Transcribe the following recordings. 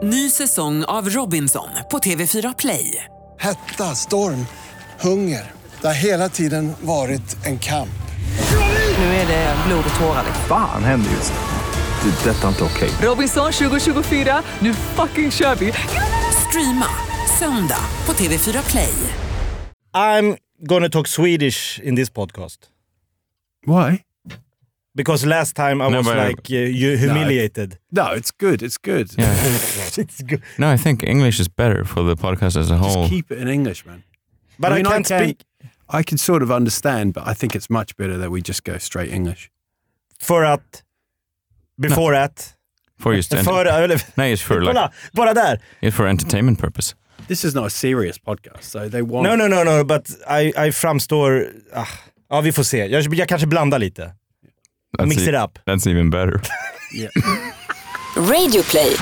Ny säsong av Robinson på TV4 Play. Hetta, storm, hunger. Det har hela tiden varit en kamp. Nu är det blod och tårar. Fan händer just nu. Det. Detta är inte okej. Robinson 2024, nu fucking kör vi. Streama söndag på TV4 Play. I'm gonna talk Swedish in this podcast. Why? Because last time I was like you humiliated. No, it's good. It's good. Yeah. It's good. No, I think English is better for the podcast as a whole. Just keep it in English, man. But I can't speak. I can sort of understand, but I think it's much better that we just go straight English. For att before at For just nej, it's for kolla, bara där. It's for entertainment purpose. This is not a serious podcast, so they want... No, but I framstår... Ja, vi får se. Jag kanske blandar lite. Mix it up. That's even better. Yeah. Radio Play.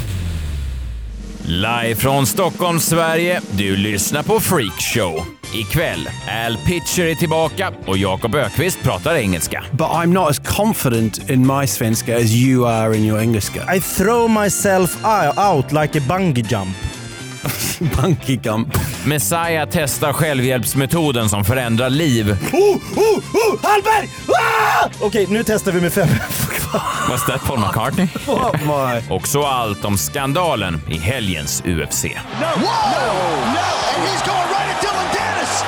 Live från Stockholm, Sverige. Du lyssnar på Freak Show. Ikväll, Al Pitcher är tillbaka och Jakob Ökvist pratar engelska. But I'm not as confident in my svenska as you are in your engelska. I throw myself out like a bungee jump. Bungee jump. Messiah testar självhjälpsmetoden som förändrar liv. Hallberg! Okej, nu testar vi med 5. Was that Paul McCartney? Oh my. Och så allt om skandalen i helgens UFC. And he's going right at Dylan Dennis.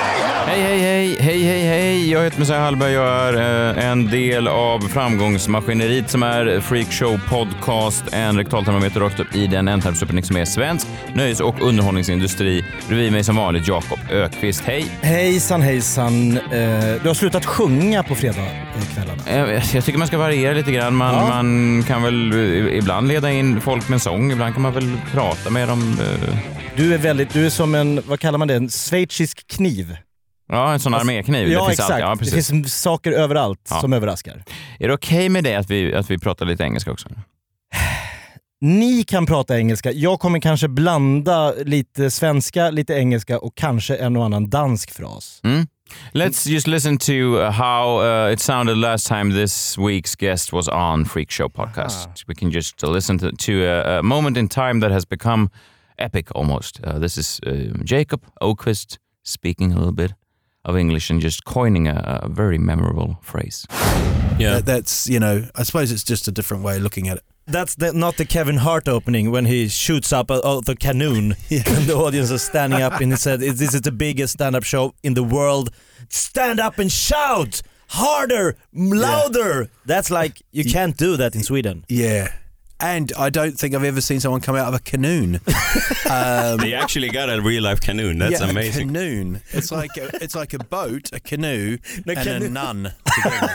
Hej. Jag heter Messiah Hallberg. Jag är en del av framgångsmaskineriet som är Freak Show Podcast. En rektaltermometer rakt upp i den ändtarmsuppenning som är svensk nöjes- och underhållningsindustri. Bredvid mig som vanligt Jakob Ökvist. Hej. Hejsan. Du har slutat sjunga på fredagskvällarna. Jag tycker man ska variera lite grann. Man kan väl ibland leda in folk med en sång. Ibland kan man väl prata med dem. Du är som en, vad kallar man det? En schweizisk kniv. Ja, en sån armékniv. Ja, det finns exakt. Ja, det finns saker överallt som överraskar. Är det okej med det att vi pratar lite engelska också? Ni kan prata engelska. Jag kommer kanske blanda lite svenska, lite engelska och kanske en och annan dansk fras. Let's just listen to how it sounded last time this week's guest was on Freak Show Podcast. We can just listen to a moment in time that has become epic almost. This is Jakob Ökvist speaking a little bit of English and just coining a very memorable phrase. Yeah, that's, I suppose it's just a different way of looking at it. That's not the Kevin Hart opening when he shoots up the canoon and the audience is standing up and he said, this is the biggest stand-up show in the world. Stand up and shout harder, louder. That's like, you can't do that in Sweden. Yeah. And I don't think I've ever seen someone come out of a canoon. They actually got a real life canoon. That's amazing. A canoon. It's like a boat, a canoe, a nun together.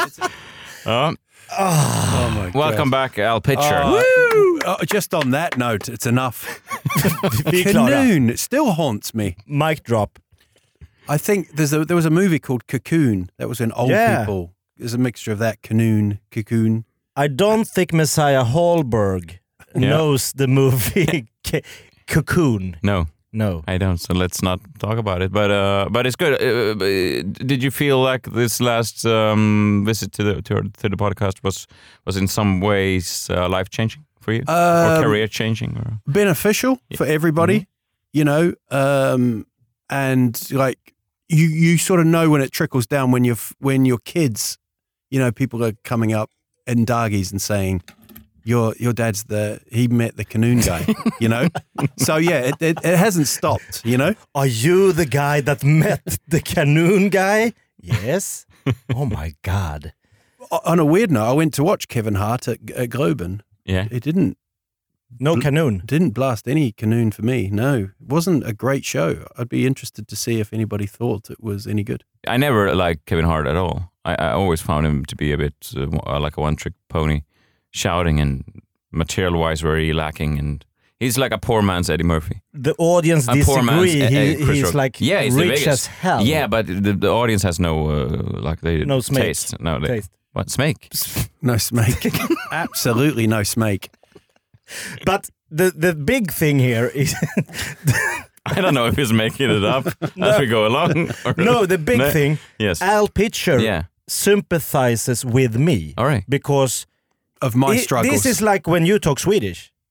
Oh my God. Welcome back, Al Pitcher. Just on that note, it's enough. Canoon, it still haunts me. Mic drop. I think there was a movie called Cocoon. That was when old people. There's a mixture of that, canoon, cocoon. I don't think Messiah Hallberg knows the movie Cocoon. No, I don't. So let's not talk about it. But it's good. Did you feel like this last visit to the podcast was in some ways life changing for you, or career changing, or beneficial for everybody? And like you sort of know when it trickles down when your kids, people are coming up in dargies and saying, your dad's he met the canoon guy, So yeah, it hasn't stopped, Are you the guy that met the canoon guy? Yes. Oh my God. On a weird note, I went to watch Kevin Hart at Groben. Yeah. It didn't. No canoon. Didn't blast any canoon for me. No, it wasn't a great show. I'd be interested to see if anybody thought it was any good. I never liked Kevin Hart at all. I always found him to be a bit like a one-trick pony, shouting and material-wise very lacking, and he's like a poor man's Eddie Murphy. The audience disagree. He's like rich as hell. Yeah, but the audience has no no smake. Taste. No taste. What smake? No smake. Absolutely no smake. But the big thing here is I don't know if he's making it up as we go along. No, the big thing. Yes. Al Pitcher sympathizes with me. All right. Because of my struggles. This is like when you talk Swedish.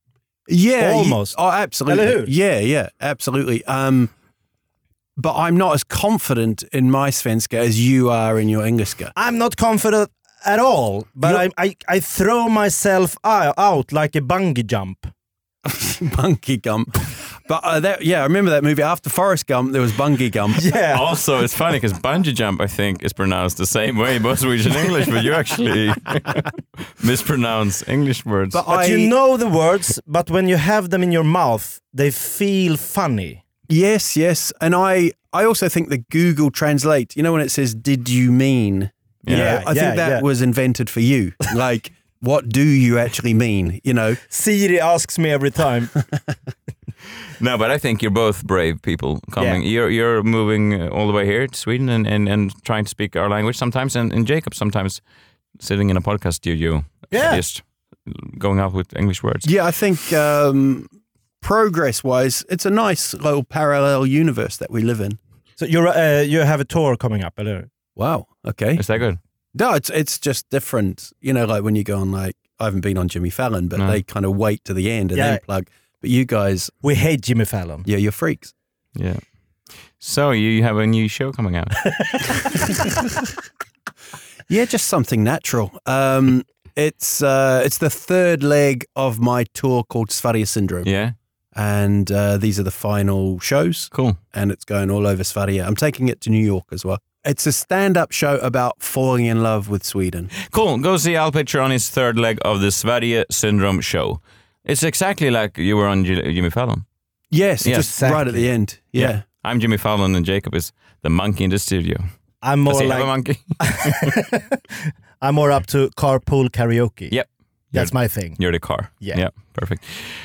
Yeah, Almost. Oh, absolutely. Eller hur? Yeah, absolutely. But I'm not as confident in my svenska as you are in your engelska. I'm not confident at all, but I throw myself out like a bungee jump. Bungee Gump. But I remember that movie. After Forrest Gump, there was Bungee Gump. Yeah. Also, it's funny because bungee jump, I think, is pronounced the same way both Swedish and English, but you actually mispronounce English words. But you know the words, but when you have them in your mouth, they feel funny. Yes. And I also think that Google Translate, you know when it says, did you mean? You know, I think that was invented for you. Like, what do you actually mean, you know? Siri asks me every time. No, but I think you're both brave people coming. Yeah. You're moving all the way here to Sweden and trying to speak our language sometimes, and Jacob sometimes sitting in a podcast studio, just going out with English words. Yeah, I think progress-wise, it's a nice little parallel universe that we live in. So you have a tour coming up, eller? Wow, okay. Is that good? No, it's just different. You know, like when you go on, like, I haven't been on Jimmy Fallon, but they kind of wait to the end and then plug. But you guys... We hate Jimmy Fallon. Yeah, you're freaks. Yeah. So you have a new show coming out. Yeah, just something natural. It's the third leg of my tour called Sverige Syndrome. Yeah. And these are the final shows. Cool. And it's going all over Sverige. I'm taking it to New York as well. It's a stand-up show about falling in love with Sweden. Cool. Go see Al Pitcher on his third leg of the Sverige Syndrome show. It's exactly like you were on Jimmy Fallon. Yes, just exactly. right at the end. Yeah. I'm Jimmy Fallon and Jacob is the monkey in the studio. I'm more Does he like have a monkey? I'm more up to carpool karaoke. Yep. That's my thing. You're the car. Yeah. Perfect.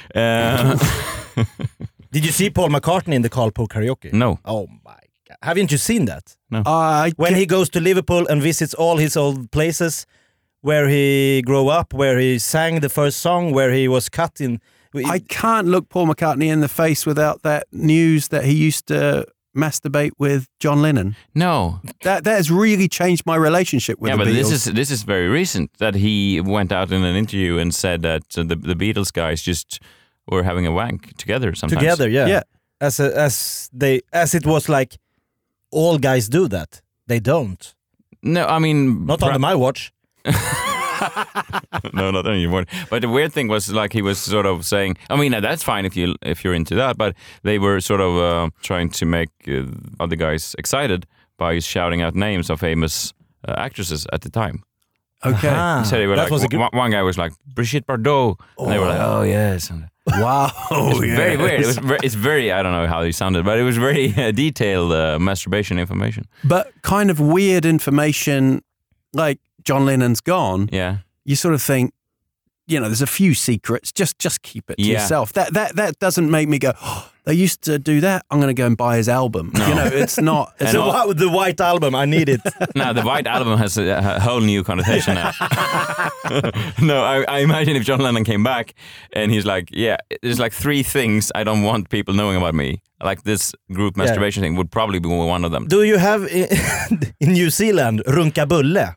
Did you see Paul McCartney in the carpool karaoke? No. Oh my God. Haven't you seen that? No. When he goes to Liverpool and visits all his old places where he grew up, where he sang the first song, where he was cut in... I can't look Paul McCartney in the face without that news that he used to masturbate with John Lennon. No. That has really changed my relationship with the but Beatles. this is very recent that he went out in an interview and said that the Beatles guys just were having a wank together sometimes. Together, yeah. Yeah. As it was like, all guys do that. They don't. No, I mean... Not under my watch. No, not anymore. But the weird thing was, like, he was sort of saying, I mean, that's fine if you're into that, but they were sort of trying to make other guys excited by shouting out names of famous actresses at the time. Okay. Aha. So they were That like, was a good... one guy was like, Brigitte Bardot, and they were like, oh yes. Wow. It's very weird. It's very, I don't know how he sounded, but it was very detailed masturbation information. But kind of weird information, like John Lennon's gone. Yeah. You sort of think, you know, there's a few secrets. Just keep it to yourself. That doesn't make me go, oh, they used to do that. I'm going to go and buy his album. No. You know, it's not. It's not The White Album, I need it. No, the White Album has a whole new connotation now. No, I imagine if John Lennon came back and he's like, yeah, there's like 3 things I don't want people knowing about me. Like this group masturbation thing would probably be one of them. Do you have in New Zealand runkabulle?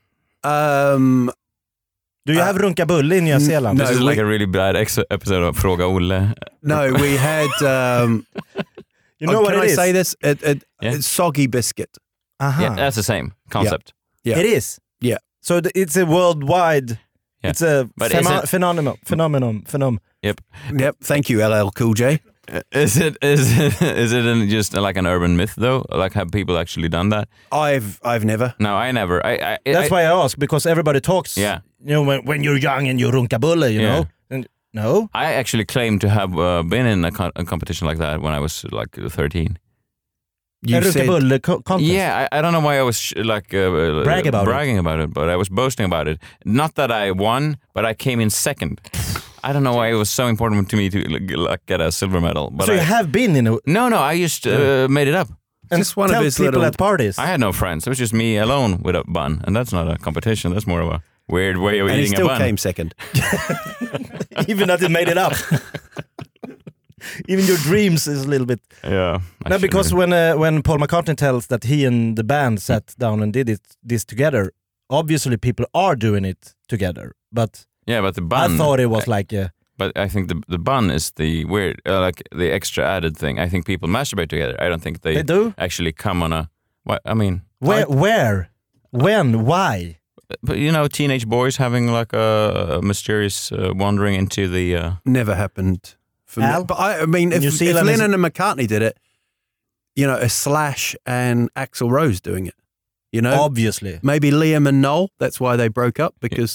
Do you have runkabulle in New Zealand? This is like a really bad episode of Fråga Olle. No, we had. You know what can it I is? say this? It's soggy biscuit. Aha. Yeah, that's the same concept. Yeah. It is. Yeah. So it's a worldwide. Yeah. It's a But phenomenon. Yep. Yep. Thank you, LL Cool J. Is it just like an urban myth though? Like, have people actually done that? I've never. No, I never. That's why I ask, because everybody talks. Yeah. You know, when you're young and you runkabulle, you know. And, no. I actually claim to have been in a competition like that when I was like 13. You a said, runkabulle contest. Yeah, I don't know why I was bragging about it, but I was boasting about it. Not that I won, but I came in second. I don't know why it was so important to me to like get a silver medal. But So you have been in a... No, I just made it up. And just one of tell his people little- at parties. I had no friends. It was just me alone with a bun, and that's not a competition. That's more of a weird way of and he eating still a bun. came second. Even that it made it up. Even your dreams is a little bit... Yeah. No, because when Paul McCartney tells that he and the band sat down and did this together, obviously people are doing it together. But yeah, but the bun. I thought it was like a... But I think the bun is the weird, like the extra added thing. I think people masturbate together. I don't think they do? actually come on a... What, I mean... Where? When? Why? But you know, teenage boys having like a mysterious wandering into the... Never happened for me. Al? But I mean, if Lennon and McCartney did it, you know, a Slash and Axl Rose doing it, you know? Obviously. Maybe Liam and Noel, that's why they broke up, because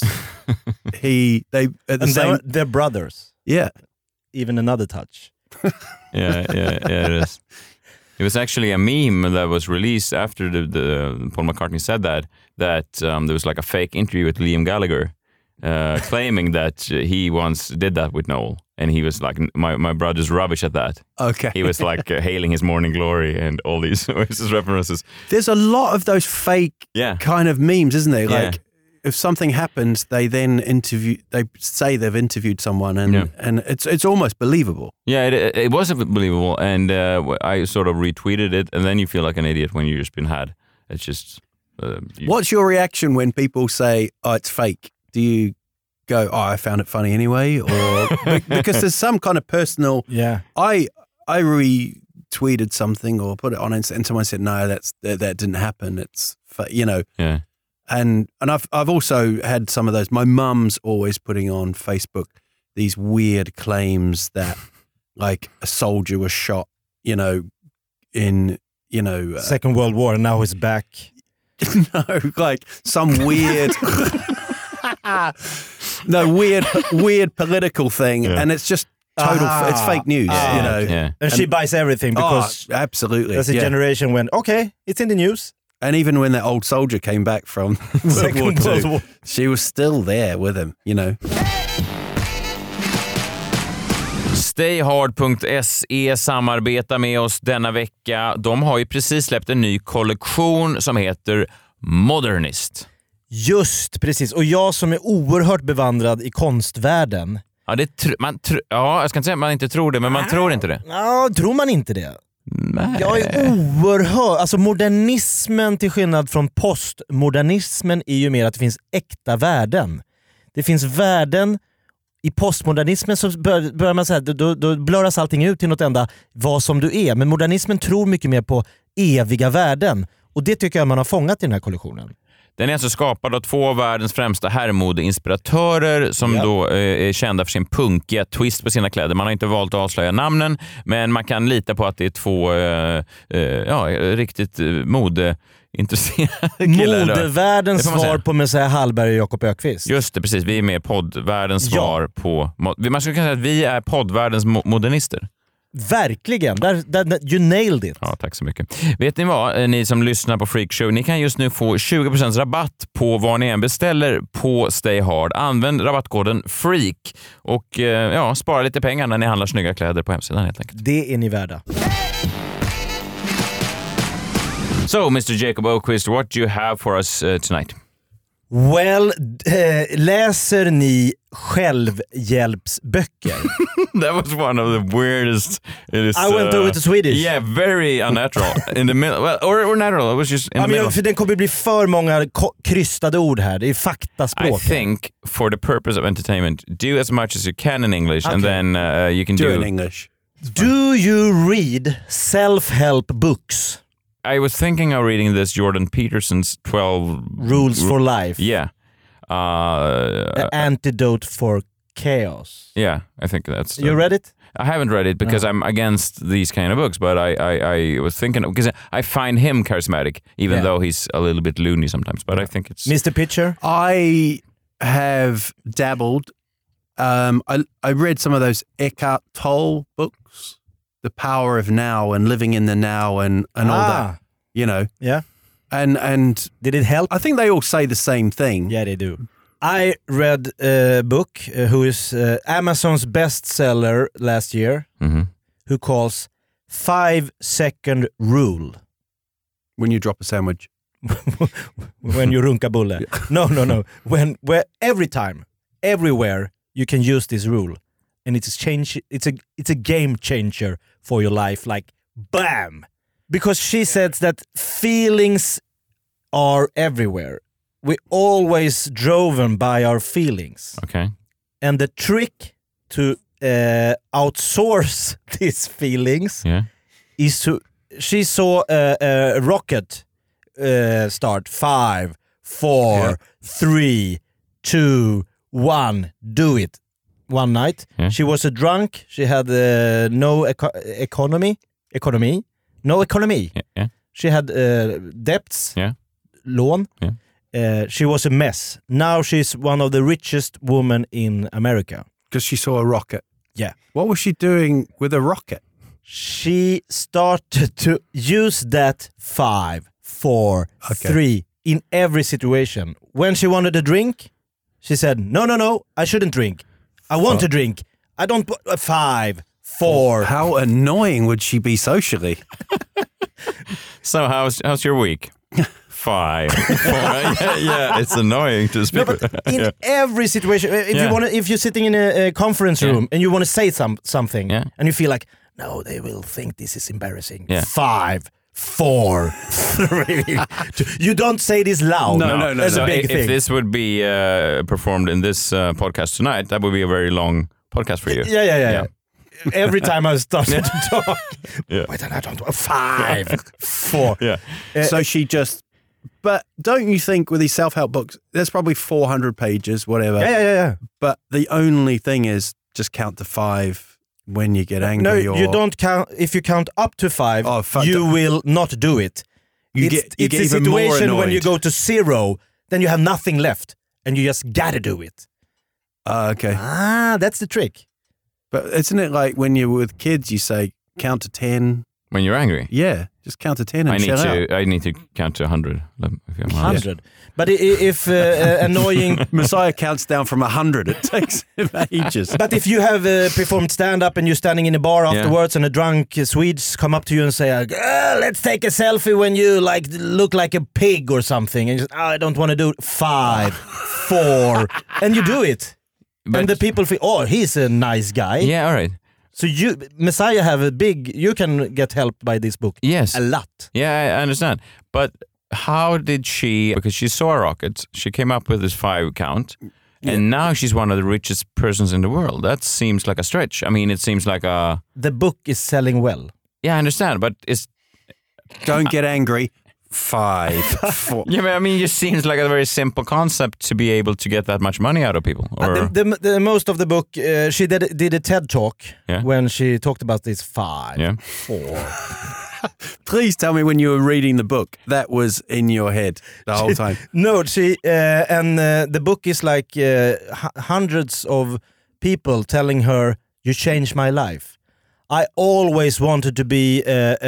they're brothers. Yeah. Even another touch. yeah, it is. It was actually a meme that was released after the Paul McCartney said that there was like a fake interview with Liam Gallagher claiming that he once did that with Noel. And he was like, my brother's rubbish at that. Okay. He was like hailing his Morning Glory and all these Oasis references. There's a lot of those fake kind of memes, isn't there? Like, if something happens, they then they say they've interviewed someone and it's almost believable. Yeah, it was believable. And I sort of retweeted it. And then you feel like an idiot when you've just been had. It's just... What's your reaction when people say, oh, it's fake? Do you go, oh, I found it funny anyway? Or because there's some kind of personal... Yeah. I retweeted something or put it on and someone said, no, that didn't happen. It's, you know... Yeah. And I've also had some of those. My mum's always putting on Facebook these weird claims that like a soldier was shot, you know, in, you know... Second World War and now he's back. No, like some weird... no, weird political thing. Yeah. And it's just total... it's fake news, you know. Yeah. And she buys everything because... absolutely. There's a generation when, okay, it's in the news. And even when that old soldier came back from World War II, she was still there with him, you know. Stayhard.se samarbetar med oss denna vecka. De har ju precis släppt en ny kollektion som heter Modernist. Just, precis. Och jag som är oerhört bevandrad i konstvärlden. Ja, jag ska inte säga att man inte tror det, men man tror inte det. Ja, tror man inte det? Nej. Jag är oerhört... Alltså modernismen till skillnad från postmodernismen är ju mer att det finns äkta värden. Det finns värden... I postmodernismen så börjar man säga då blöras allting ut till något enda vad som du är. Men modernismen tror mycket mer på eviga värden. Och det tycker jag man har fångat i den här kollektionen. Den är alltså skapad av två av världens främsta herrmodeinspiratörer som då är kända för sin punkiga twist på sina kläder. Man har inte valt att avslöja namnen, men man kan lita på att det är två riktigt modeintresserade killar. Modevärldens svar på Messiah Hallberg och Jakob Ökvist. Just det, precis. Vi är med poddvärldens svar på... Man skulle kunna säga att vi är poddvärldens modernister. Verkligen, you nailed it. Ja, tack så mycket. Vet ni vad, ni som lyssnar på Freakshow, ni kan just nu få 20% rabatt på vad ni än beställer på Stay Hard. Använd rabattkoden FREAK och spara lite pengar när ni handlar snygga kläder på hemsidan helt enkelt. Det är ni värda. So, Mr. Jacob Ökvist, what do you have for us tonight? Well, läser ni självhjälpsböcker? That was one of the weirdest. I went over to Swedish. Yeah, very unnatural. In the middle, well, or natural. It was just in the middle. För det kommer bli för många krystade ord här. Det är faktaspråk. I think for the purpose of entertainment, do as much as you can in English, and then you can do in English. Do you read self-help books? I was thinking of reading this Jordan Peterson's 12 Rules for Life. Yeah. The Antidote for Chaos. Yeah, I think that's... You read it? I haven't read it because I'm against these kind of books, but I was thinking... Because I find him charismatic, even though he's a little bit loony sometimes, but I think it's... Mr. Pitcher? I have dabbled. I read some of those Eckhart Tolle books. The Power of Now and Living in the Now and all that, you know. Yeah. And did it help? I think they all say the same thing. Yeah, they do. I read a book who is Amazon's bestseller last year, who calls 5-second rule. When you drop a sandwich. When you runka bulle. No. Where every time, everywhere, you can use this rule. And it's a game changer for your life, like bam! Because she says that feelings are everywhere. We always driven by our feelings. Okay. And the trick to outsource these feelings is to... She saw a rocket start 5, 4, 3, 2, 1, do it. One night. She was a drunk. She had no economy. No economy. She had debts. Lån. She was a mess. Now she's one of the richest women in America. Because she saw a rocket. Yeah. What was she doing with a rocket? She started to use that 5, 4, 3 in every situation. When she wanted a drink, she said, no, I shouldn't drink. I want to drink. I don't... 5, 4... How annoying would she be socially? So how's your week? 5, 4. Yeah, it's annoying to speak. No, but in every situation, if you're sitting in a conference room and you want to say something and you feel like, no, they will think this is embarrassing. 5, 4, 3. You don't say this loud. No. That's a big thing. If this would be performed in this podcast tonight, that would be a very long podcast for you. Yeah. Every time I started to talk, wait, I don't 5, 4. Yeah. So she just... But don't you think with these self-help books, there's probably 400 pages, whatever. Yeah. But the only thing is just count to 5 when you get angry. No, you don't count. If you count up to 5, you will not do it. It's a situation when you go to 0, then you have nothing left, and you just gotta do it. Okay. That's the trick. But isn't it like when you're with kids, you say count to 10? When you're angry? Yeah, just count to 10 and shut up. I need to count to 100. If I'm 100. But if annoying... Messiah counts down from 100. It takes him ages. But if you have performed stand-up and you're standing in a bar afterwards and a drunk Swedes come up to you and say, let's take a selfie when you look like a pig or something. And you say, I don't want to do it. 5, 4. And you do it. And the people feel, he's a nice guy. Yeah, all right. So Messiah have you can get help by this book. Yes. A lot. Yeah, I understand. But how did she, because she saw a rocket, she came up with this 5 count, and now she's one of the richest persons in the world. That seems like a stretch. I mean, it seems like a... The book is selling well. Yeah, I understand, but it's... Don't get angry. 5, 4. Yeah, but I mean, it just seems like a very simple concept to be able to get that much money out of people. Or... The most of the book, she did a TED talk when she talked about this 5, 4. Please tell me when you were reading the book, that was in your head the whole time. No, the book is like hundreds of people telling her, you changed my life. I always wanted to be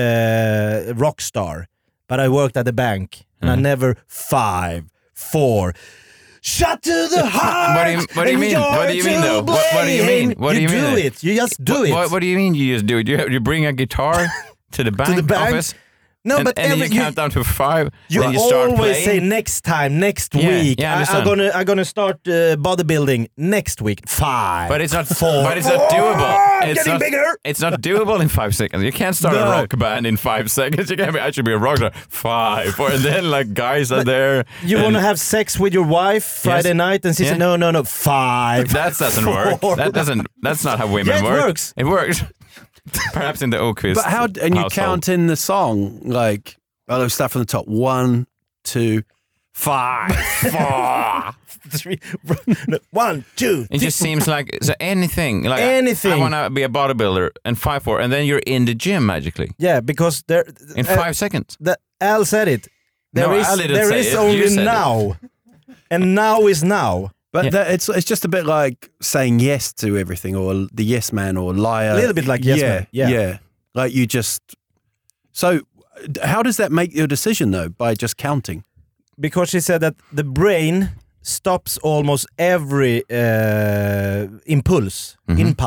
a rock star. But I worked at the bank, and I never 5, 4. Shut to the heart. What do you mean? What do you mean though? What do you mean? What do you mean? You do it. You just do it. What do you mean? You just do it? You bring a guitar to the bank office. No, and, but then you count down to 5. You then you start always playing. say next time, next week. Yeah, I'm gonna start bodybuilding next week. 5. But it's not 4. But it's not doable. It's getting not, bigger. It's not doable in 5 seconds. You can't start a rock band in 5 seconds. You can't be, I should be a rock star. 5. And then guys are there. You want to have sex with your wife Friday night, and she said no. 5. That doesn't work. That's not how women work. It works. It works. Perhaps in the Oakvist. But how? And you count in the song stuff from the top. 1, 2, 5, 4, 3. 1, 2. It just seems like anything. Anything. I want to be a bodybuilder and 5, 4, and then you're in the gym magically. Yeah, because there in 5 seconds. Al said it. There is only now, and now is now. But it's just a bit like saying yes to everything, or the yes man, or liar. A little bit like yes man. Yeah. Like you just. So, how does that make your decision though? By just counting? Because she said that the brain stops almost every impulse.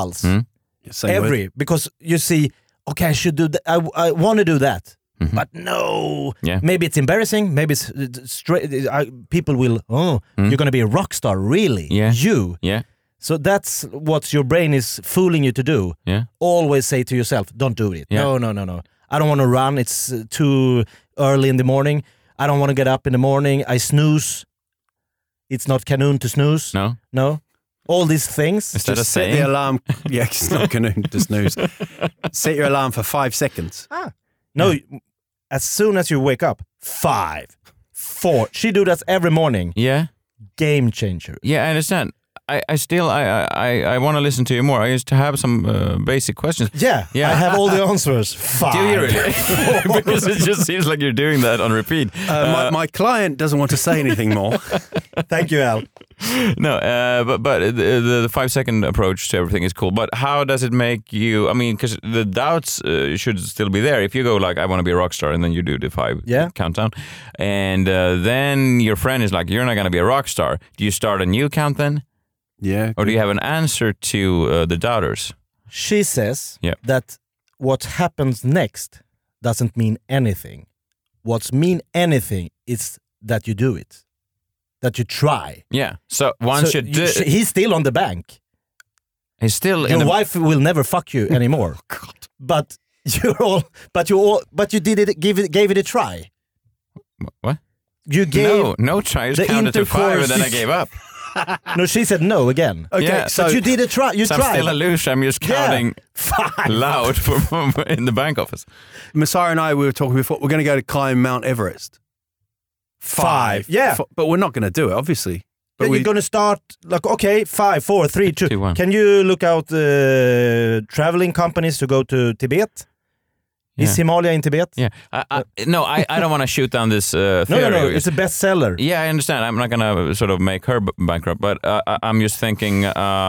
Every because you see, okay, I should do that. I want to do that. But no, maybe it's embarrassing. Maybe it's straight. People will. You're going to be a rock star, really? Yeah. You. Yeah. So that's what your brain is fooling you to do. Yeah. Always say to yourself, "Don't do it." Yeah. No. I don't want to run. It's too early in the morning. I don't want to get up in the morning. I snooze. It's not Kanoon to snooze. No. all these things. Is that a Just set the saying? alarm. Yeah, it's not going to snooze. Set your alarm for 5 seconds. No, as soon as you wake up, 5, 4. She do that every morning. Yeah. Game changer. Yeah, I understand. I still want to listen to you more. I used to have some basic questions. Yeah, Yeah. I have all the answers. 5. Do you really? Because it just seems like you're doing that on repeat. My client doesn't want to say anything more. Thank you, Al. No, but the 5-second approach to everything is cool. But how does it make you? I mean, because the doubts should still be there. If you go like, I want to be a rock star, and then you do the 5 countdown, and then your friend is like, you're not going to be a rock star. Do you start a new count then? Yeah. Or do you have an answer to the doubters? She says Yeah. that what happens next doesn't mean anything. What's mean anything is that you do it. That you try. Yeah. So one So should. he's still on the bank. He's still in Your the. wife will never fuck you anymore. But you did it. Gave it a try. What? You gave No try. I just the counted to 5 and then I intercourse- gave up. No, she said no again. Okay, Yeah. so But you did a try. You So I'm tried. still a loser. I'm just counting 5. loud in the bank office. Messiah and I, we were talking before, we're going to go to climb Mount Everest. 5. Yeah. But we're not going to do it, obviously. But You're going to start like, okay, 5, 4, 3, 2. 2, 1. Can you look out traveling companies to go to Tibet? Is Yeah. Himalaya in Tibet? Yeah. I don't want to shoot down this theory. No. It's a bestseller. Yeah, I understand. I'm not gonna sort of make her bankrupt, but I'm just thinking,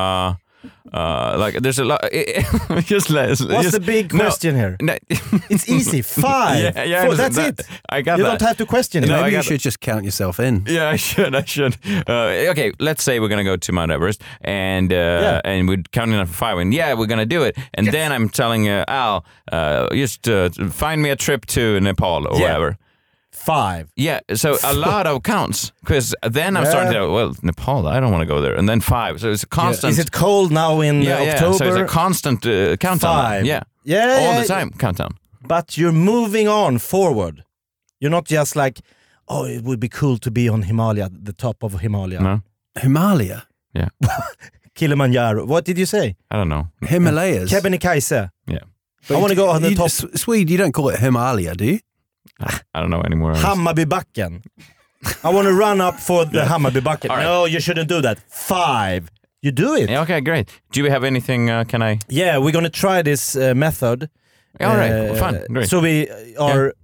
like there's a lot. What's the big question here? No, It's easy. 5. Yeah, 4. That's it. I got You that. don't have to question it. No, I maybe you got should just count yourself in. Yeah, I should. Okay, let's say we're gonna go to Mount Everest, and and we're counting up for 5, and we're gonna do it. And then I'm telling Al, just find me a trip to Nepal or whatever. 5. Yeah, so a lot of counts, because then I'm starting to go, well, Nepal, I don't want to go there. And then 5, so it's a constant. Is it cold now in October? So it's a constant countdown. 5. Yeah, all the time, countdown. But you're moving on forward. You're not just like, oh, it would be cool to be on Himalaya, the top of Himalaya. No, Himalaya? yeah, Kilimanjaro. What did you say? I don't know. Himalayas? Kebnekaise. Yeah, I want to go on the top. Swede, you don't call it Himalaya, do you? I don't know anymore. Hammarbybacken. I want to run up for the Hammarbybacken. All right. No, you shouldn't do that. 5. You do it. Yeah, okay, great. Do we have anything? Can I? Yeah, we're going to try this method. All right, fun, great. So we are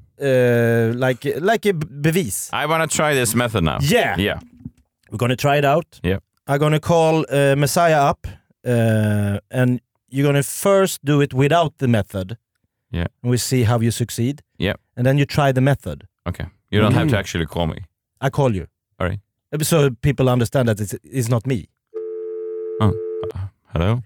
like a bevis. I want to try this method now. Yeah. Yeah. We're going to try it out. Yeah. I'm going to call Messiah up and you're going to first do it without the method. Yeah. And we see how you succeed. Yeah. And then you try the method. Okay. You don't have to actually call me. I call you. All right. So people understand that it's not me. Oh. Hello?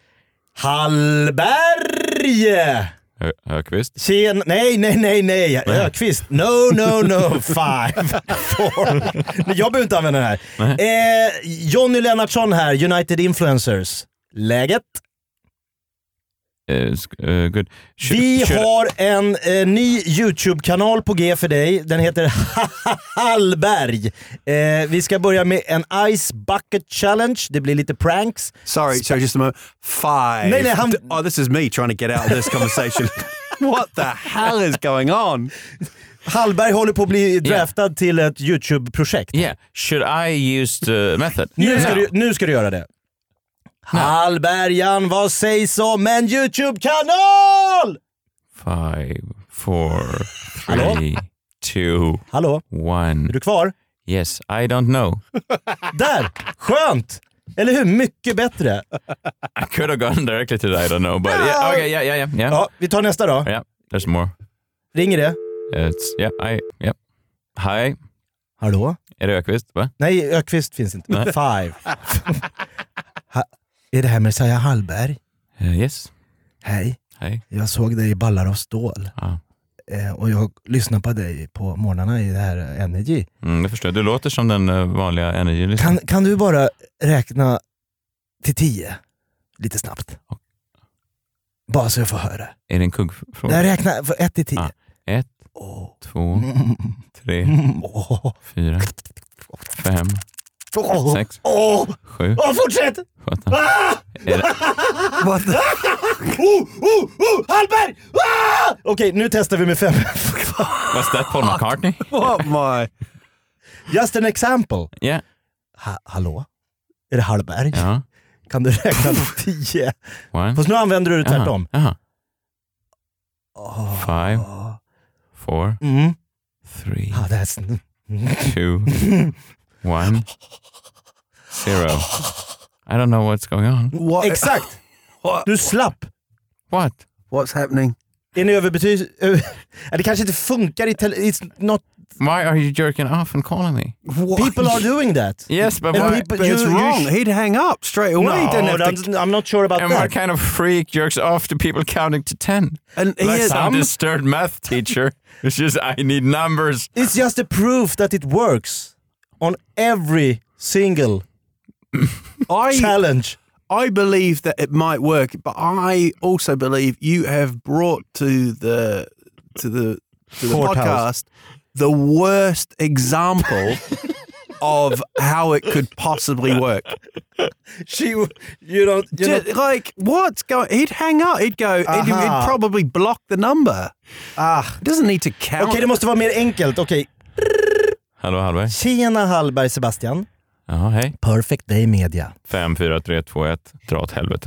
Hallberg! Ökvist? Nej. Ökvist. No. 5, 4. Jag behöver inte använda den här. Johnny Lennartsson här, United Influencers. Läget? Good. Vi har en ny YouTube-kanal på G för dig. Den heter Hallberg. Vi ska börja med en Ice Bucket Challenge. Det blir lite pranks. Sorry, just a moment. 5. Nej, Oh, this is me trying to get out of this conversation. What the hell is going on? Hallberg håller på att bli draftad till ett YouTube-projekt. Yeah. Should I use the method? Nu ska du göra det. Hallbergan, vad sägs om en YouTube-kanal? 5, 4, Hallå? 3, 2, Hallå? 1. Är du kvar? Yes, I don't know. Där! Skönt! Eller hur? Mycket bättre. I could have gone directly to the I don't know, but yeah, okay, yeah. Ja, vi tar nästa då. Yeah, there's more. Ringer det? It's Hi. Hallå? Är det Ökvist? Va? Nej, Ökvist finns inte. 5. Är det här Messiah Hallberg? Yes. Hej. Hej. Jag såg dig i Ballar av stål. Ja. Och jag lyssnar på dig på morgnarna i det här Energy. Jag förstår. Du låter som den vanliga Energy-lyssnaren. Kan du bara räkna till 10? Lite snabbt. Bara så jag får höra. Är det en kuggfråga? Jag räknar från 1 till 10. 1, 2, 3, 4, 5, 6, 7, fortsätt! 17. What the? Hallberg! Okej, nu testar vi med 5. Was that Paul McCartney? What my? Just an example. Yeah. Hallå? Är det Hallberg? Ja. Kan du räkna 10? 1. Fast nu använder du det tvärtom. Jaha. 5, 4, 3, That's... 2, 1, 0. I don't know what's going on. What? Exakt! Du slapp. What? What's happening? Är ni det kanske inte funkar i It's not... Why are you jerking off and calling me? People are doing that. Yes, but And why? people- But it's wrong. He'd hang up straight away. He didn't have to. I'm not sure about And that. what kind of freak jerks off to people counting to 10? And he Like had, some disturbed math teacher. It's just, I need numbers. It's just a proof that it works on every single challenge. I believe that it might work, but I also believe you have brought to the Courthouse. podcast the worst example of how it could possibly work. You don't... Like, what's going? He'd hang up. He'd go. He'd probably block the number. It doesn't need to count. Okej, det måste vara mer enkelt. Okej. Hallå Hallberg. Tjena Hallberg, Sebastian. Ja, hej. Perfect Day Media. 5, 4, 3, 2, 1. Dra åt helvete.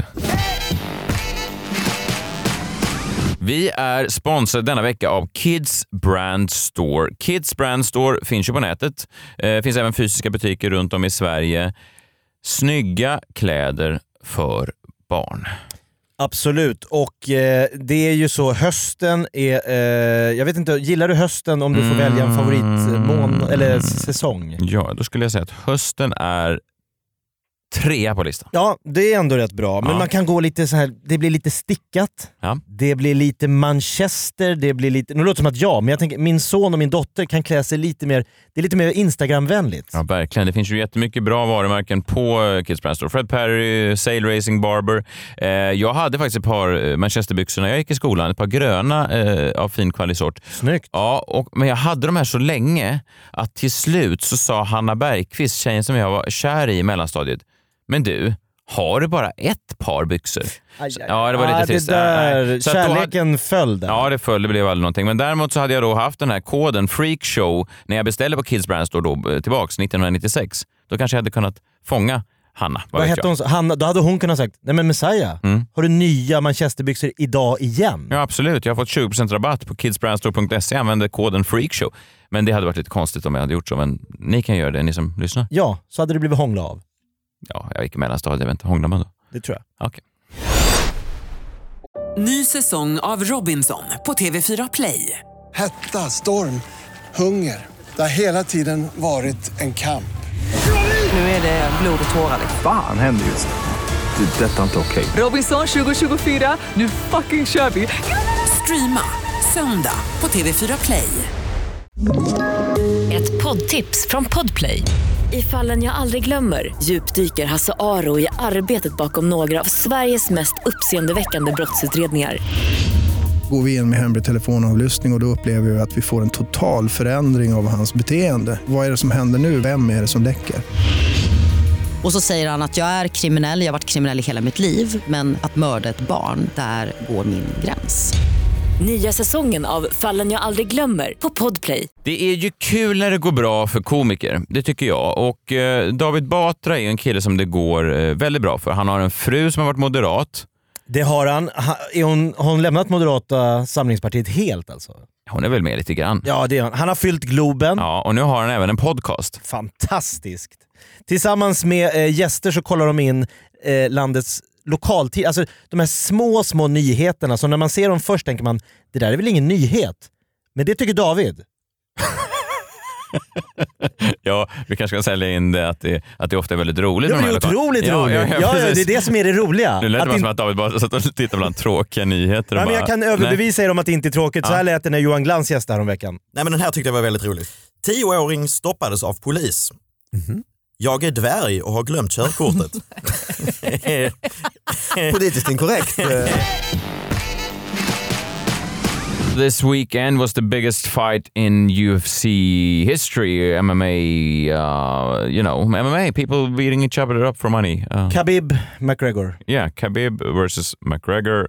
Vi är sponsrade denna vecka av Kids Brand Store. Kids Brand Store finns ju på nätet. Finns även fysiska butiker runt om i Sverige. Snygga kläder för barn. Absolut, och det är ju så, hösten är, jag vet inte, gillar du hösten om du får välja en favoritmån eller säsong? Ja, då skulle jag säga att hösten är 3 på listan. Ja, det är ändå rätt bra, men man kan gå lite så här, det blir lite stickat, det blir lite Manchester, det blir lite, nu låter det som att men jag tänker, min son och min dotter kan klä sig lite mer, det är lite mer Instagram-vänligt. Ja, verkligen. Det finns ju jättemycket bra varumärken på Kids Brand Store. Fred Perry, Sail Racing Barber. Jag hade faktiskt ett par Manchesterbyxor när jag gick i skolan, ett par gröna av fin kvalitetsort. Snyggt. Ja, men jag hade de här så länge att till slut så sa Hanna Bergqvist, tjejen som jag var kär i mellanstadiet, men du, har du bara ett par byxor? Ja, det var lite trist. Det där, så kärleken föll där. Ja, det föll, det blev aldrig någonting. Men däremot så hade jag då haft den här koden Freakshow när jag beställde på Kids Brand Store då, tillbaks 1996. Då kanske jag hade kunnat fånga Hanna. Vad hette hon? Hanna, då hade hon kunnat sagt, nej men Messiah, har du nya Manchesterbyxor idag igen? Ja, absolut. Jag har fått 20% rabatt på kidsbrandstore.se. Jag använde koden Freakshow. Men det hade varit lite konstigt om jag hade gjort så. Men ni kan göra det, ni som lyssnar. Ja, så hade det blivit hångla av. Ja, jag gick i mellanstadiet, jag vet inte, hånglar man då? Det tror jag. Okej. Ny säsong av Robinson på TV4 Play. Hetta, storm, hunger. Det har hela tiden varit en kamp. Nu är det blod och tårar. Fan händer just det. Detta är inte okej. Robinson 2024, nu fucking kör vi. Streama söndag på TV4 Play. Ett poddtips från Podplay. I Fallen jag aldrig glömmer djupdyker Hasse Aro i arbetet bakom några av Sveriges mest uppseendeväckande brottsutredningar. Går vi in med hemlig telefonavlyssning och då upplever vi att vi får en total förändring av hans beteende. Vad är det som händer nu? Vem är det som läcker? Och så säger han att jag är kriminell, jag har varit kriminell i hela mitt liv, men att mörda ett barn, där går min gräns. Nya säsongen av Fallen jag aldrig glömmer på Podplay. Det är ju kul när det går bra för komiker, det tycker jag. Och David Batra är en kille som det går väldigt bra för. Han har en fru som har varit moderat. Det har han. Har hon lämnat Moderata samlingspartiet helt alltså? Hon är väl med lite grann. Ja, det är han. Han har fyllt Globen. Ja, och nu har han även en podcast. Fantastiskt. Tillsammans med gäster så kollar de in landets lokaltid, alltså de här små nyheterna, så när man ser dem först tänker man, det där är väl ingen nyhet, men det tycker David. Ja, vi kanske kan sälja in det att det ofta är väldigt roligt. Ja, det är otroligt roligt. Ja, det är det som är det roliga. Det lät bara som att David bara satt och tittade bland tråkiga nyheter. Ja, men jag kan överbevisa er om att det inte är tråkigt. Så här lät det när Johan Glans gästade om veckan. Nej, men den här tyckte jag var väldigt rolig. 10-åring stoppades av polis. Jag är dvärg och har glömt körkortet. Politiskt inkorrekt. this weekend was the biggest fight in UFC history. MMA, MMA, people beating each other up for money. Khabib McGregor. Yeah, Khabib versus McGregor.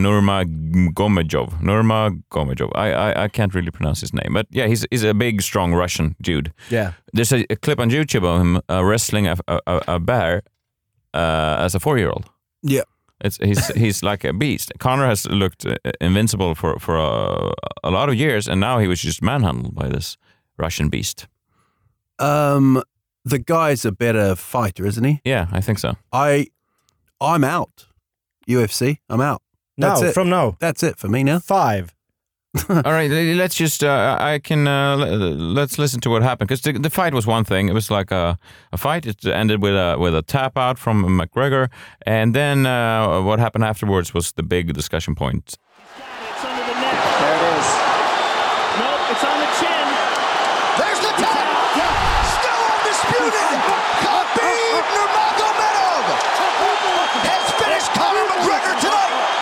Nurmagomedov. I can't really pronounce his name, but yeah, he's a big, strong Russian dude. Yeah. There's a clip on YouTube of him wrestling a bear as a 4-year-old. Yeah. He's like a beast. Conor has looked invincible for a lot of years, and now he was just manhandled by this Russian beast. The guy's a better fighter, isn't he? Yeah, I think so. I'm out. UFC, I'm out. That's it. From now. That's it for me now. 5. All right, let's just. Let's listen to what happened, because the fight was one thing. It was like a fight. It ended with a tap out from McGregor, and then what happened afterwards was the big discussion point. It's under the neck. There it is. Nope, it's on the chin. There's the tap. Still undisputed. Khabib Nurmagomedov has finished Conor McGregor tonight.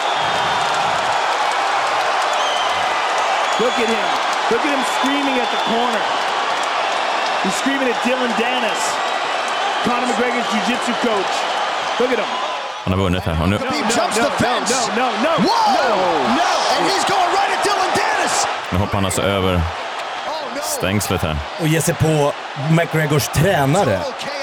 Look at him. Look at him screaming at the corner. He's screaming at Dylan Dennis, Conor McGregor's jiu-jitsu coach. Look at him. Han har vunnit här. He jumps the fence. No. And he's going right at Dylan Dennis. Nu hoppar han alltså över stängslet här. Och ger sig på McGregors tränare.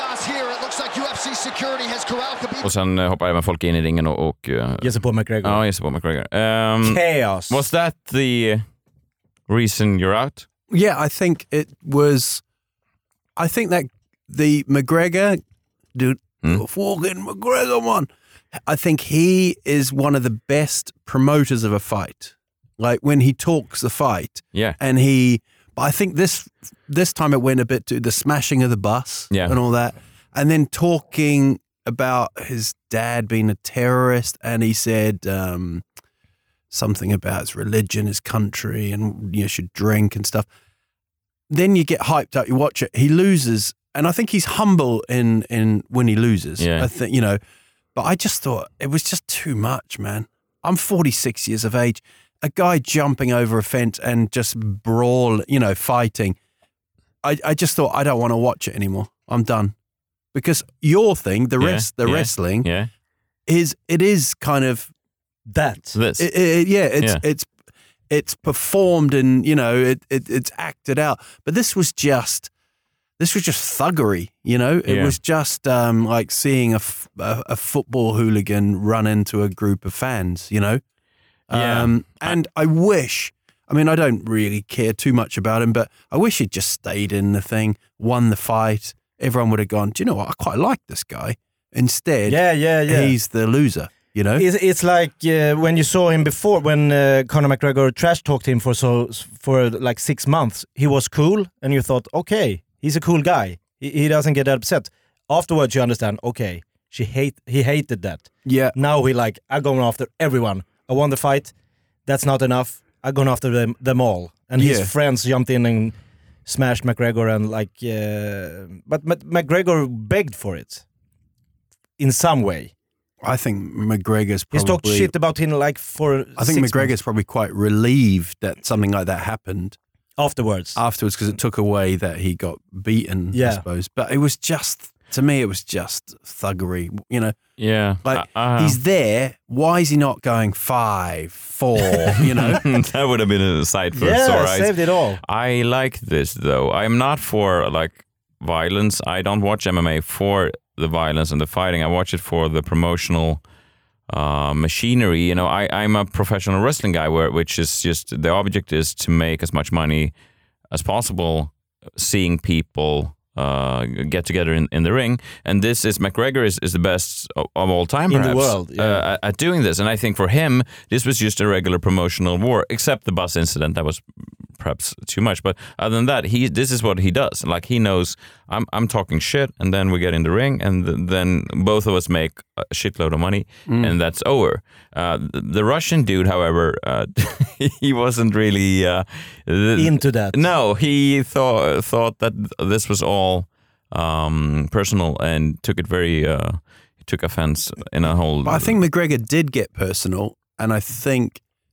Och sen hoppar även folk in i ringen och ger sig på McGregor. Ja, ger sig på McGregor. Chaos. Was that the reason you're out? Yeah, I think it was. I think that the McGregor dude, fucking McGregor one. I think he is one of the best promoters of a fight. Like when he talks the fight, yeah. And but I think this time it went a bit to the smashing of the bus, and all that, and then talking about his dad being a terrorist, and he said something about his religion, his country, and you should drink and stuff. Then you get hyped up, you watch it, he loses, and I think he's humble in when he loses. Yeah. I think, but I just thought it was just too much, man. I'm 46 years of age. A guy jumping over a fence and just brawl, fighting. I just thought, I don't want to watch it anymore. I'm done. Because your thing, wrestling, it is kind of that's this. It's performed and it's acted out. But this was just thuggery. It was just like seeing a football hooligan run into a group of fans. And I wish. I mean, I don't really care too much about him, but I wish he'd just stayed in the thing, won the fight. Everyone would have gone, do you know what? I quite like this guy. Instead, he's the loser, It's like when you saw him before, when Conor McGregor trash-talked him for like 6 months. He was cool, and you thought, okay, he's a cool guy. He doesn't get upset. Afterwards, you understand, okay, he hated that. Yeah. Now I'm going after everyone. I won the fight. That's not enough. I'm going after them all. And his friends jumped in and smashed McGregor but McGregor begged for it in some way. I think McGregor's probably... He's talked shit about him for I think 6 McGregor's months. probably quite relieved that something like that happened. Afterwards, because it took away that he got beaten, I suppose. But it was just, to me, it was just thuggery, Yeah. Like, he's there, why is he not going 5, 4, That would have been a sight for sore eyes. Saved it all. I like this, though. I'm not for, violence. I don't watch MMA for the violence and the fighting. I watch it for the promotional machinery. I'm a professional wrestling guy, which is just, the object is to make as much money as possible seeing people get together in the ring, and this is McGregor is the best of all time, perhaps, in the world at doing this. And I think for him, this was just a regular promotional war, except the bus incident that was perhaps too much. But other than that, this is what he does. Like, he knows I'm talking shit, and then we get in the ring, and then both of us make a shitload of money, and that's over. The Russian dude, however, he wasn't really into that. No, he thought that this was all personal and took it very. He took offense in a whole. But I think McGregor did get personal, and I think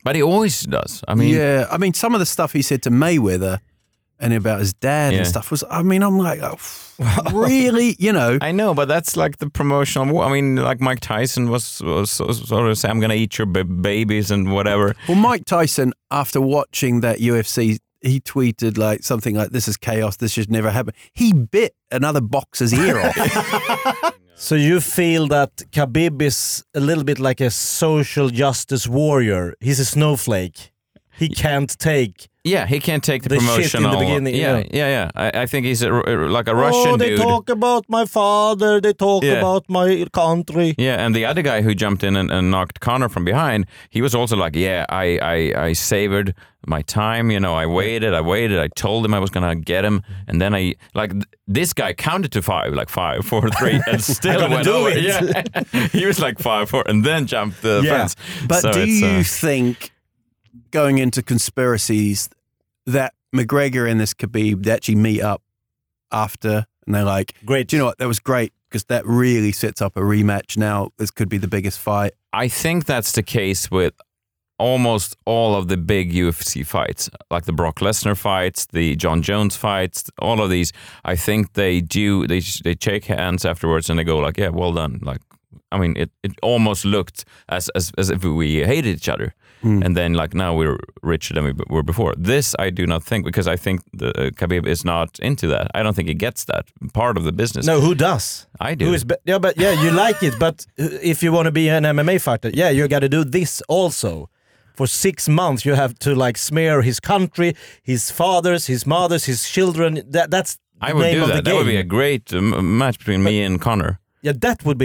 But he always does. I mean, yeah. I mean, some of the stuff he said to Mayweather and about his dad and stuff was. I mean, I'm like, really, you know? I know, but that's like the promotional. I mean, like Mike Tyson was sort of saying, "I'm gonna eat your babies" and whatever. Well, Mike Tyson, after watching that UFC, he tweeted like something like, "This is chaos. This should never happen." He bit another boxer's ear off. So you feel that Khabib is a little bit like a social justice warrior. He's a snowflake. He can't take. Yeah, he can't take the promotional. Shit in the beginning. Yeah. I think he's like a Russian dude. Oh, they talk about my father. They talk about my country. Yeah, and the other guy who jumped in and knocked Conor from behind, he was also like, yeah, I savored my time. You know, I waited. I told him I was gonna get him, and then this guy counted to 5, like 5, 4, 3, and still went over. Yeah, he was like 5, 4, and then jumped the fence. But so do you think, going into conspiracies, that McGregor and this Khabib, they actually meet up after and they're like, great. Do you know what? That was great because that really sets up a rematch now. This could be the biggest fight. I think that's the case with almost all of the big UFC fights, like the Brock Lesnar fights, the John Jones fights, all of these. I think they shake hands afterwards and they go like, yeah, well done. Like, I mean, it almost looked as if we hated each other. And then like now we're richer than we were before. This I do not think, because I think the Khabib is not into that. I don't think he gets that part of the business. No, who does? I do. Who is you like it, but if you want to be an MMA fighter, you got to do this also. For 6 months you have to like smear his country, his fathers, his mothers, his children. That's I would do that. That would be a great match between me and Conor. Yeah, that would be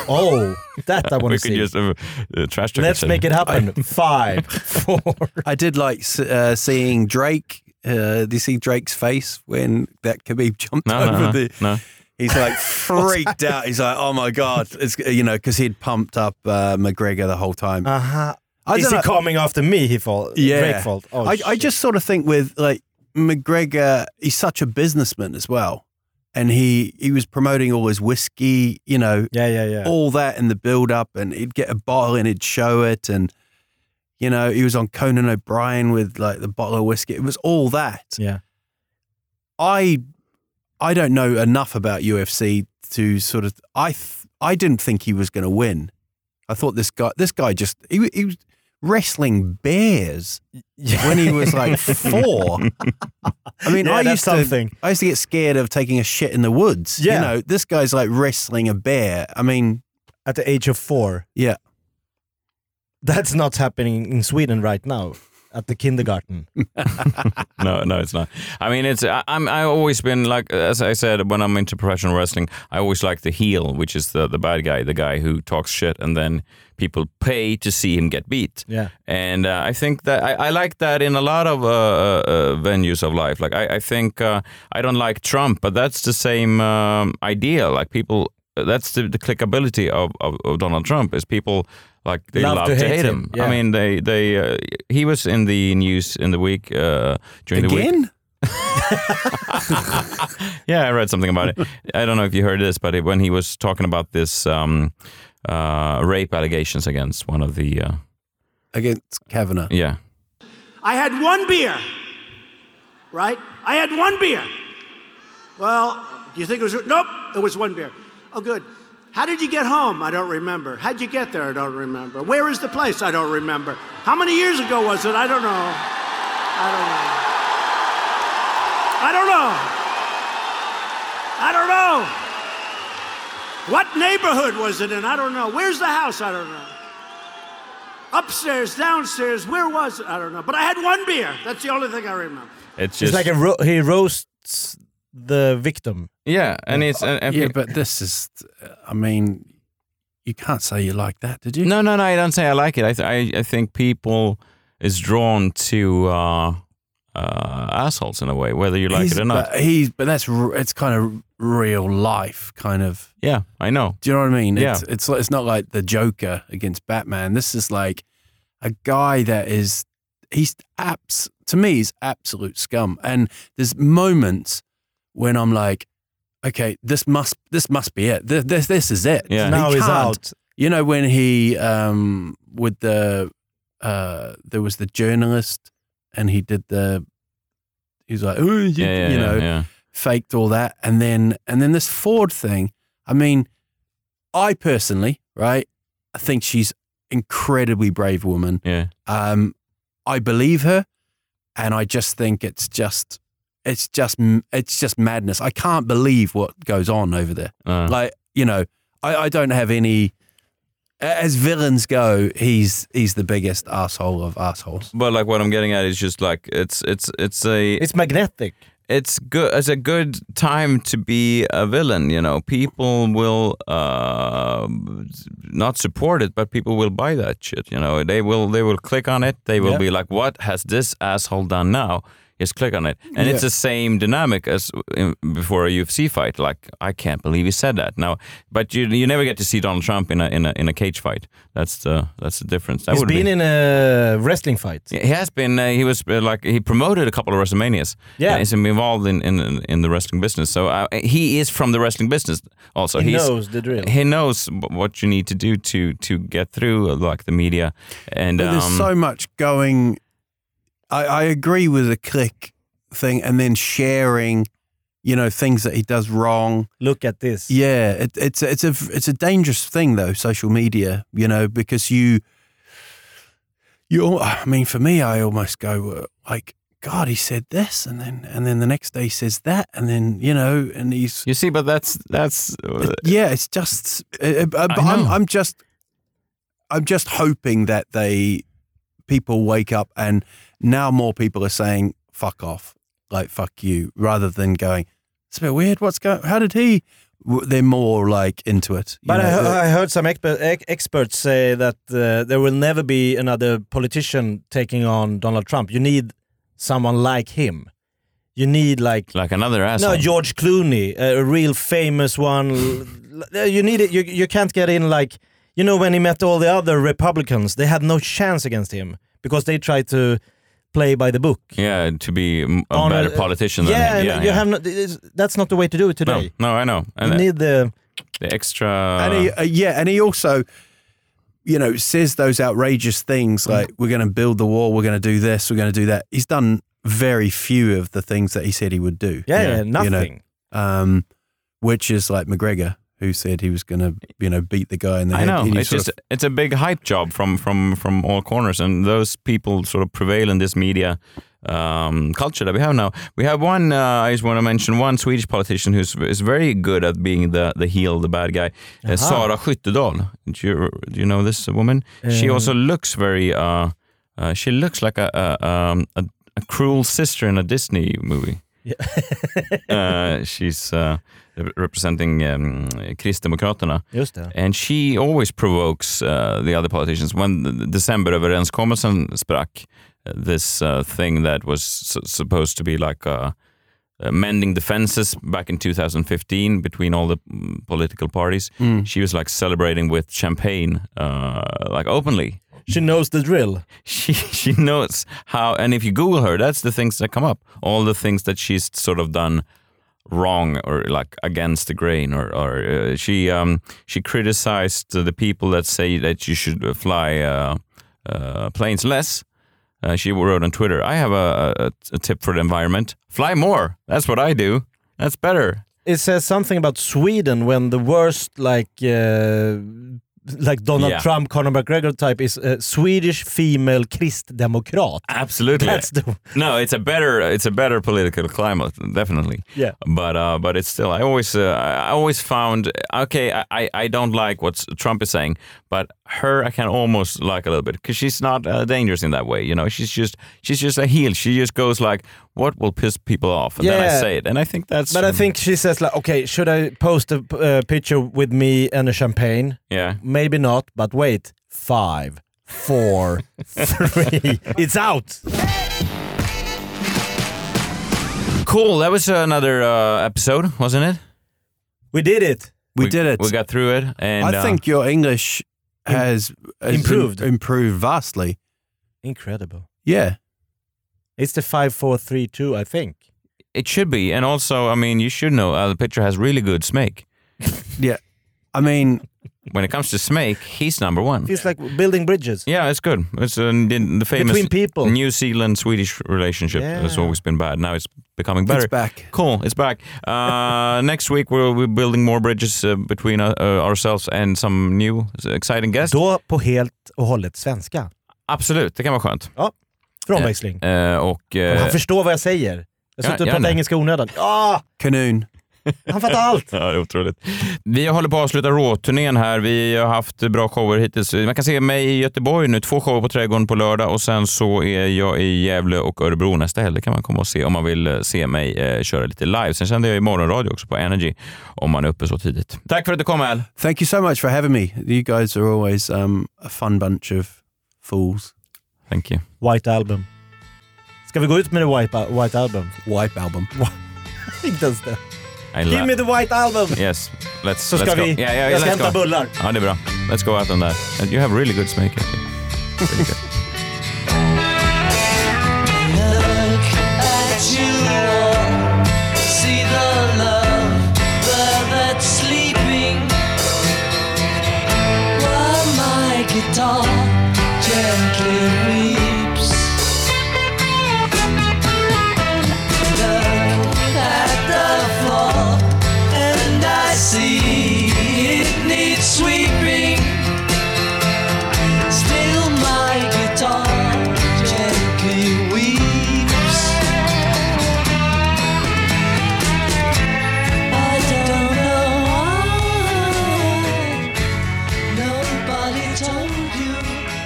that I want to see. We could just trash talk. Let's make it happen. 5, 4. I did like seeing Drake. Do you see Drake's face when that Khabib jumped over No. He's like freaked out. He's like, oh my God. It's, because he'd pumped up McGregor the whole time. Is he coming after me? Drake fault. Oh, I just sort of think with like McGregor, he's such a businessman as well. And he was promoting all his whiskey, all that in the build-up, and he'd get a bottle and he'd show it, and he was on Conan O'Brien with like the bottle of whiskey. It was all that. Yeah. I don't know enough about UFC to sort of. I didn't think he was going to win. I thought this guy just he was wrestling bears when he was like 4. I mean, I used to get scared of taking a shit in the woods. Yeah. This guy's like wrestling a bear. I mean, at the age of 4. Yeah. That's not happening in Sweden right now. At the kindergarten. No, it's not. I mean, I've always been like, as I said, when I'm into professional wrestling, I always like the heel, which is the bad guy, the guy who talks shit, and then people pay to see him get beat. Yeah. And I think that I like that in a lot of venues of life. Like I think I don't like Trump, but that's the same idea. Like people, that's the clickability of Donald Trump is people. Like they love to hate him. Yeah. I mean, they he was in the news in the week during the week. Again? Yeah, I read something about it. I don't know if you heard this, but when he was talking about this rape allegations against one of the against Kavanaugh. Yeah. I had 1 beer. Right? I had 1 beer. Well, do you think it was? Nope, it was 1 beer. Oh, good. How did you get home? I don't remember. How'd you get there? I don't remember. Where is the place? I don't remember. How many years ago was it? I don't know. I don't know. What neighborhood was it in? I don't know. Where's the house? I don't know. Upstairs, downstairs, where was it? I don't know. But I had 1 beer. That's the only thing I remember. It's just like he roasts the victim. Yeah, and it's but this is. I mean, you can't say you like that, did you? No. I don't say I like it. I think people is drawn to assholes in a way, whether you like it or not. But it's kind of real life, kind of. Yeah, I know. Do you know what I mean? Yeah. It's not like the Joker against Batman. This is like a guy that is. To me, he's absolute scum. And there's moments when I'm like, okay, this must be it. This is it. Yeah. Now he's out. You know when he with the there was the journalist, and he was like, faked all that, and then this Ford thing. I mean, I personally, right, I think she's incredibly brave woman. Yeah. I believe her, and I just think it's just madness. I can't believe what goes on over there. Like, you know, I don't have any. As villains go, he's the biggest asshole of assholes. But like what I'm getting at is just like it's magnetic. It's good. It's a good time to be a villain. You know, people will not support it, but people will buy that shit. You know, they will click on it. They will be like, "What has this asshole done now?" Just click on it, and it's the same dynamic as before a UFC fight. Like, I can't believe he said that. Now, but you never get to see Donald Trump in a cage fight. That's the difference. He's been in a wrestling fight. He has been. He was he promoted a couple of WrestleManias. Yeah, he's involved in the wrestling business. So he is from the wrestling business. Also, he knows the drill. He knows what you need to do to get through like the media. And but there's so much going. I agree with the click thing, and then sharing, you know, things that he does wrong. Look at this. Yeah, it's a dangerous thing though, social media. You know, because you. I mean, for me, I almost go like, God, he said this, and then the next day he says that, and then you know, and he's. You see, but that's. Yeah, it's just. But I'm just hoping that people wake up, and now more people are saying "fuck off," like "fuck you," rather than going, "It's a bit weird. How did he?" They're more like into it. But I heard some experts say that there will never be another politician taking on Donald Trump. You need someone like him. You need like another asshole. No, George Clooney, a real famous one. You need it. You can't get in like. You know, when he met all the other Republicans, they had no chance against him because they tried to play by the book. Yeah, to be a better politician than him. Yeah, you have no, that's not the way to do it today. No, I know. And you need the extra... And he also, you know, says those outrageous things like, we're going to build the wall, we're going to do this, we're going to do that. He's done very few of the things that he said he would do. Yeah, nothing. You know, which is like McGregor, who said he was going to, you know, beat the guy in the head. I know. It's a big hype job from all corners, and those people sort of prevail in this media culture that we have now. We have one. I just want to mention one Swedish politician is very good at being the heel, the bad guy. Sara Skyttedal. Do you know this woman? She also looks very. She looks like a cruel sister in a Disney movie. Yeah. She's representing Kristdemokraterna. Just det. And she always provokes the other politicians. When the Decemberöverenskommelsen sprack, this thing that was supposed to be like mending the fences back in 2015 between all the political parties, she was like celebrating with champagne, like openly. She knows the drill. She knows how, and if you Google her, that's the things that come up. All the things that she's sort of done wrong or like against the grain, or she criticized the people that say that you should fly planes less. She wrote on Twitter, "I have a tip for the environment: fly more. That's what I do. That's better." It says something about Sweden when the worst like Donald Trump, Conor McGregor type is a Swedish female Kristdemokrat. Absolutely. It's a better political climate, definitely. Yeah. But it's still, I always found, okay, I don't like what Trump is saying, but her I can almost like a little bit because she's not dangerous in that way. You know, she's just a heel. She just goes like, what will piss people off? And then I say it. And I think that's... But I think she says like, okay, should I post a picture with me and a champagne? Yeah. Maybe not, but wait. 5, 4, 3. It's out. Cool. That was another episode, wasn't it? We did it. We did it. We got through it. And I think your English has improved vastly. Incredible. Yeah. It's the 5, 4, 3, 2, I think. It should be. And also, I mean, you should know the picture has really good smack. Yeah. I mean, when it comes to Smake, he's number one. Feels like building bridges. Yeah, it's good. It's the famous Between people. New Zealand-Swedish relationship has always been bad. Now it's becoming better. It's back. Cool, it's back. Next week we'll be building more bridges between ourselves and some new exciting guests. Då på helt och hållet svenska. Absolut, det kan vara skönt. Ja, för omväxling. Han förstår vad jag säger. Jag sitter och pratar engelska onödan. Kanoon. Han fattar allt. Ja, det är otroligt. Vi håller på att avsluta Raw-turnén här. Vi har haft bra shower hittills. Man kan se mig i Göteborg nu. 2 shower på Trädgården på lördag och sen så är jag i Gävle och Örebro nästa helg. Det kan man komma och se om man vill se mig köra lite live. Sen kände jag i morgonradio också på Energy om man är uppe så tidigt. Tack för att du kom, Al. Thank you so much for having me. You guys are always a fun bunch of fools. Thank you. White Album. Ska vi gå ut med det White Album? White Album. Inte ens det. Give me the White Album! Yes, så ska vi... jag ska hämta bullar. Ja, det är bra. Let's go out on that. You have really good smake. Really good. Look at you all. See the love that's sleeping. While my guitar gently weeps. See, it needs sweeping. Still my guitar gently weeps. I don't know why nobody told you.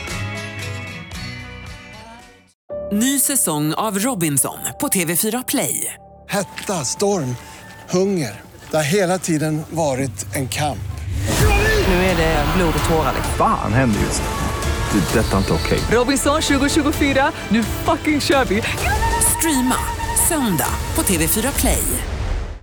Ny säsong av Robinson på TV4 Play. Hetta, storm, hunger. Det har hela tiden varit en kamp. Nu är det blod och tårar. Fan händer just det. Det är detta inte okej. Robinson 2024, nu fucking kör vi. Streama söndag på TV4 Play.